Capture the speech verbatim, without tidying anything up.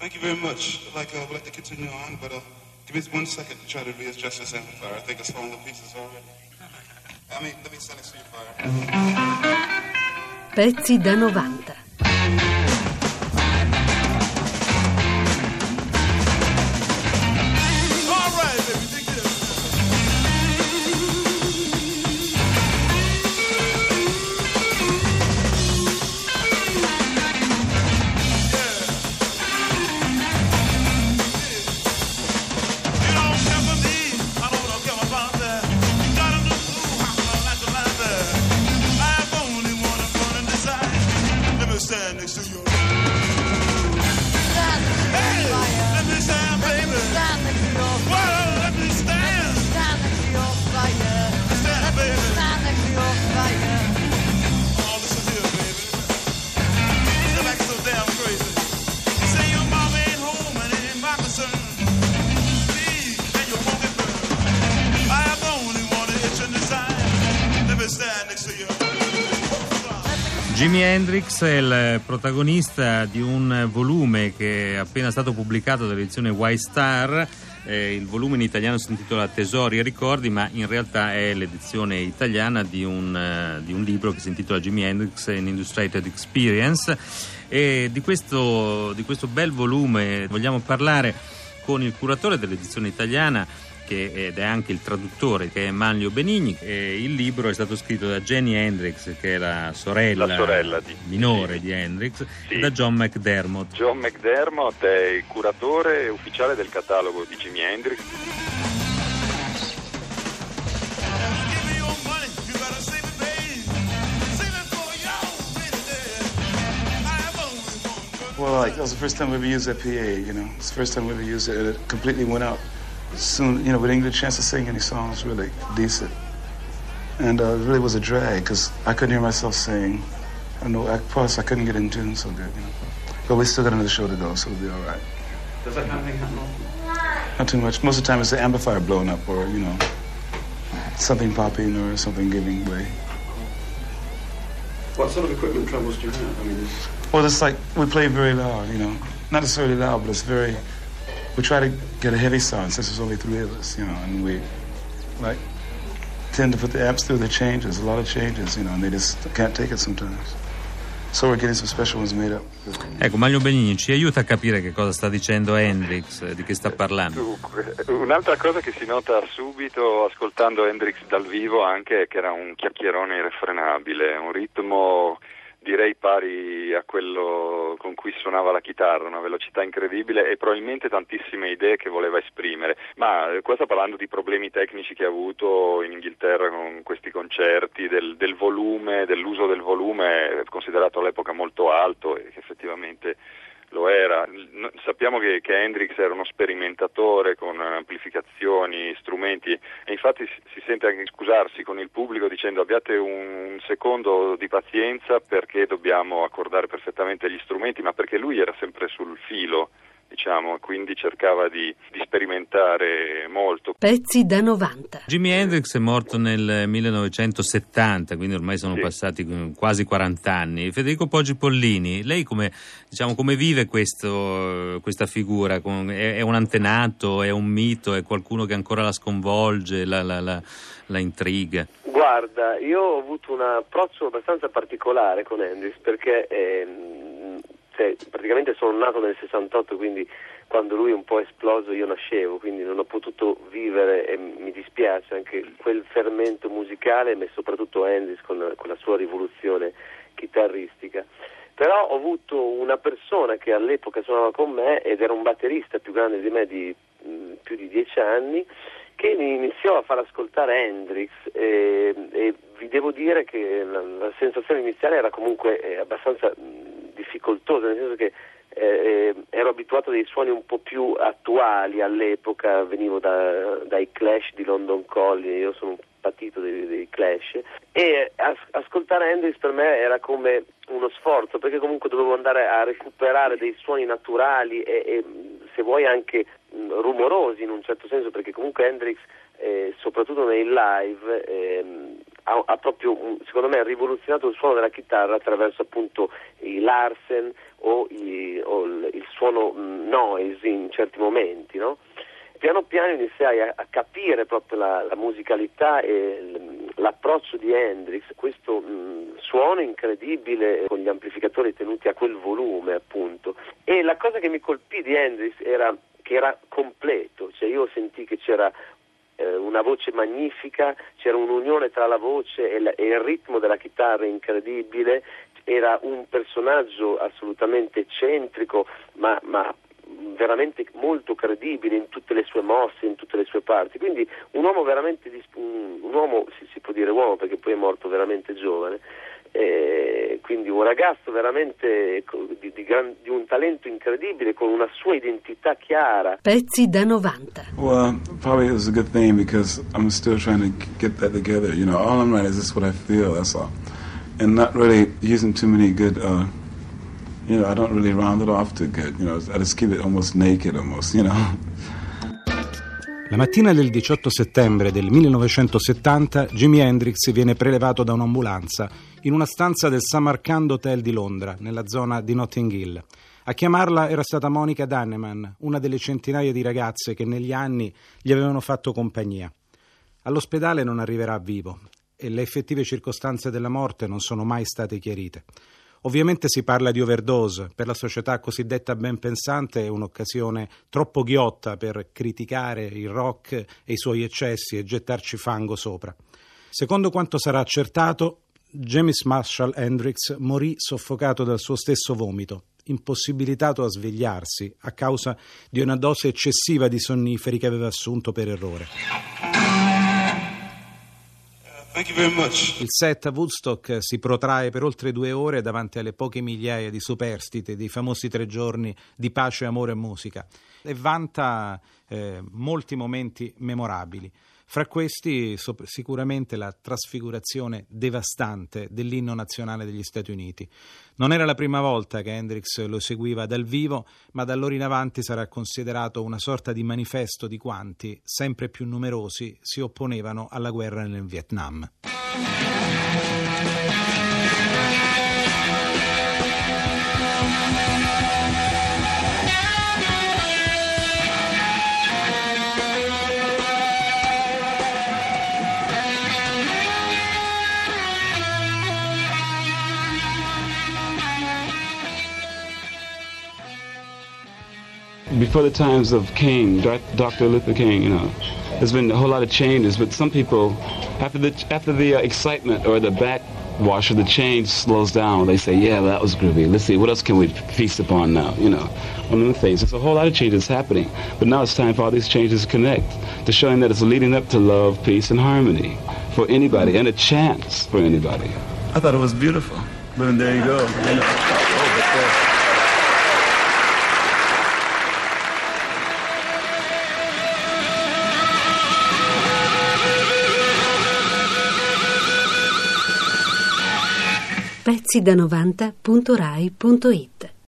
Thank you very much. Like, uh, we'd like to continue on, but uh, give me one second to try to readjust this amplifier. I think it's falling to pieces already. I mean, let me send it to you, fire. Pezzi da novanta. Stand next to you. Stand next to hey, your fire. Let me stand, baby. Let me stand next to your fire. Well, let me stand. Let me stand next to your fire. Stand, let baby. Me stand next to your fire. Oh, listen here, baby. You're like so damn crazy. You say your mom ain't home and it ain't my concern. Please, and your pocket burn. I have only one itch in the side. Let me stand next to you. Jimi Hendrix è il protagonista di un volume che è appena stato pubblicato dall'edizione Y-Star. Eh, il volume in italiano si intitola Tesori e ricordi, ma in realtà è l'edizione italiana di un, uh, di un libro che si intitola Jimi Hendrix An Illustrated Experience. E di questo, di questo bel volume vogliamo parlare con il curatore dell'edizione italiana, che ed è anche il traduttore, che è Manlio Benigni. E il libro è stato scritto da Jimi Hendrix, che è la sorella, la sorella di, minore sì. di Hendrix, sì. e da John McDermott. John McDermott è il curatore ufficiale del catalogo di Jimi Hendrix. Well, like, that was the first time we ever used that P A, you know. It's the first time we ever used it, and it completely went out. Soon, you know, we didn't get a chance to sing any songs really decent. And uh, it really was a drag, because I couldn't hear myself sing. I know, I, plus I couldn't get in tune so good, you know. But we still got another show to go, so we'll be all right. Does that kind of thing happen? Not too much. Most of the time it's the amplifier blowing up, or, you know, something popping or something giving way. What sort of equipment troubles do you have? I mean, well, it's like we play very loud, you know. Not necessarily loud, but it's very... We try to get a heavy sound since there's only three of us, you know, and we, like, tend to put the amps through the changes, a lot of changes, you know, and they just can't take it sometimes. So we're getting some special ones made up. Ecco, Manlio Benigni ci aiuta a capire che cosa sta dicendo Hendrix, di che sta parlando. Un'altra cosa che si nota subito ascoltando Hendrix dal vivo anche è che era un chiacchierone irrefrenabile, un ritmo direi pari a quello con cui suonava la chitarra, una velocità incredibile e probabilmente tantissime idee che voleva esprimere. Ma qua sta parlando di problemi tecnici che ha avuto in Inghilterra con questi concerti, del, del volume, dell'uso del volume considerato all'epoca molto alto e che effettivamente lo era. Sappiamo che, che Hendrix era uno sperimentatore con amplificazioni, strumenti, e infatti si sente anche scusarsi con il pubblico dicendo abbiate un secondo di pazienza perché dobbiamo accordare perfettamente gli strumenti, ma perché lui era sempre sul filo, diciamo, quindi cercava di, di sperimentare molto. Pezzi da novanta. Jimi Hendrix è morto nel millenovecentosettanta, quindi ormai sono sì. passati quasi quaranta anni. Federico Poggi Pollini, lei come, diciamo, come vive questo, questa figura? È, è un antenato, è un mito, è qualcuno che ancora la sconvolge, la, la, la, la intriga? Guarda, io ho avuto un approccio abbastanza particolare con Hendrix perché ehm, cioè, praticamente sono nato nel sessantotto, quindi quando lui un po' è esploso io nascevo, quindi non ho potuto vivere e mi dispiace anche quel fermento musicale, ma soprattutto Hendrix con, con la sua rivoluzione chitarristica. Però ho avuto una persona che all'epoca suonava con me ed era un batterista più grande di me di mh, più di dieci anni, che mi iniziò a far ascoltare Hendrix e, e vi devo dire che la, la sensazione iniziale era comunque eh, abbastanza mh, difficoltosa, nel senso che eh, ero abituato a dei suoni un po' più attuali all'epoca, venivo da, dai Clash di London Calling, io sono un patito dei, dei Clash, e as, ascoltare Hendrix per me era come uno sforzo, perché comunque dovevo andare a recuperare dei suoni naturali e, e se vuoi anche mh, rumorosi in un certo senso, perché comunque Hendrix eh, soprattutto nei live eh, ha, ha proprio secondo me rivoluzionato il suono della chitarra attraverso appunto i Larsen o, i, o il, il suono mh, noise in certi momenti, no? Piano piano iniziai a, a capire proprio la, la musicalità e l, l'approccio di Hendrix, questo mh, suono incredibile con gli amplificatori tenuti a quel volume, appunto. E la cosa che mi colpì di Hendrix era che era completo, cioè io sentì che c'era eh, una voce magnifica, c'era un'unione tra la voce e, la, e il ritmo della chitarra incredibile, era un personaggio assolutamente eccentrico, ma, ma veramente molto credibile in tutte le sue mosse, in tutte le sue parti, quindi un uomo veramente, un, un uomo, si, si può dire uomo perché poi è morto veramente giovane, eh, quindi un ragazzo veramente di, di, gran, di un talento incredibile, con una sua identità chiara. Pezzi da novanta. Well, probably it was a good thing because I'm still trying to get that together. You know, all I'm writing is just what I feel, that's all. And not really using too many good, uh, you know, I don't really round it off too good. You know, I just keep it almost naked, almost, you know. La mattina del diciotto settembre del millenovecentosettanta, Jimi Hendrix viene prelevato da un'ambulanza in una stanza del Samarkand Hotel di Londra, nella zona di Notting Hill. A chiamarla era stata Monica Danneman, una delle centinaia di ragazze che negli anni gli avevano fatto compagnia. All'ospedale non arriverà vivo e le effettive circostanze della morte non sono mai state chiarite. Ovviamente si parla di overdose, per la società cosiddetta ben pensante è un'occasione troppo ghiotta per criticare il rock e i suoi eccessi e gettarci fango sopra. Secondo quanto sarà accertato, James Marshall Hendrix morì soffocato dal suo stesso vomito, impossibilitato a svegliarsi a causa di una dose eccessiva di sonniferi che aveva assunto per errore. Thank you very much. Il set a Woodstock si protrae per oltre due ore davanti alle poche migliaia di superstiti dei famosi tre giorni di pace, amore e musica e vanta eh, molti momenti memorabili. Fra questi so- sicuramente la trasfigurazione devastante dell'inno nazionale degli Stati Uniti. Non era la prima volta che Hendrix lo eseguiva dal vivo, ma da allora in avanti sarà considerato una sorta di manifesto di quanti, sempre più numerosi, si opponevano alla guerra nel Vietnam. Before the times of King, Doctor Luther King, you know, there's been a whole lot of changes, but some people, after the after the uh, excitement or the backwash of the change slows down, they say, yeah, well, that was groovy. Let's see, what else can we feast upon now, you know, one of the things. There's a whole lot of changes happening, but now it's time for all these changes to connect, to showing that it's leading up to love, peace, and harmony for anybody, and a chance for anybody. I thought it was beautiful, but there you go. You know. Oh, but, uh, pezzi da novanta punto rai punto it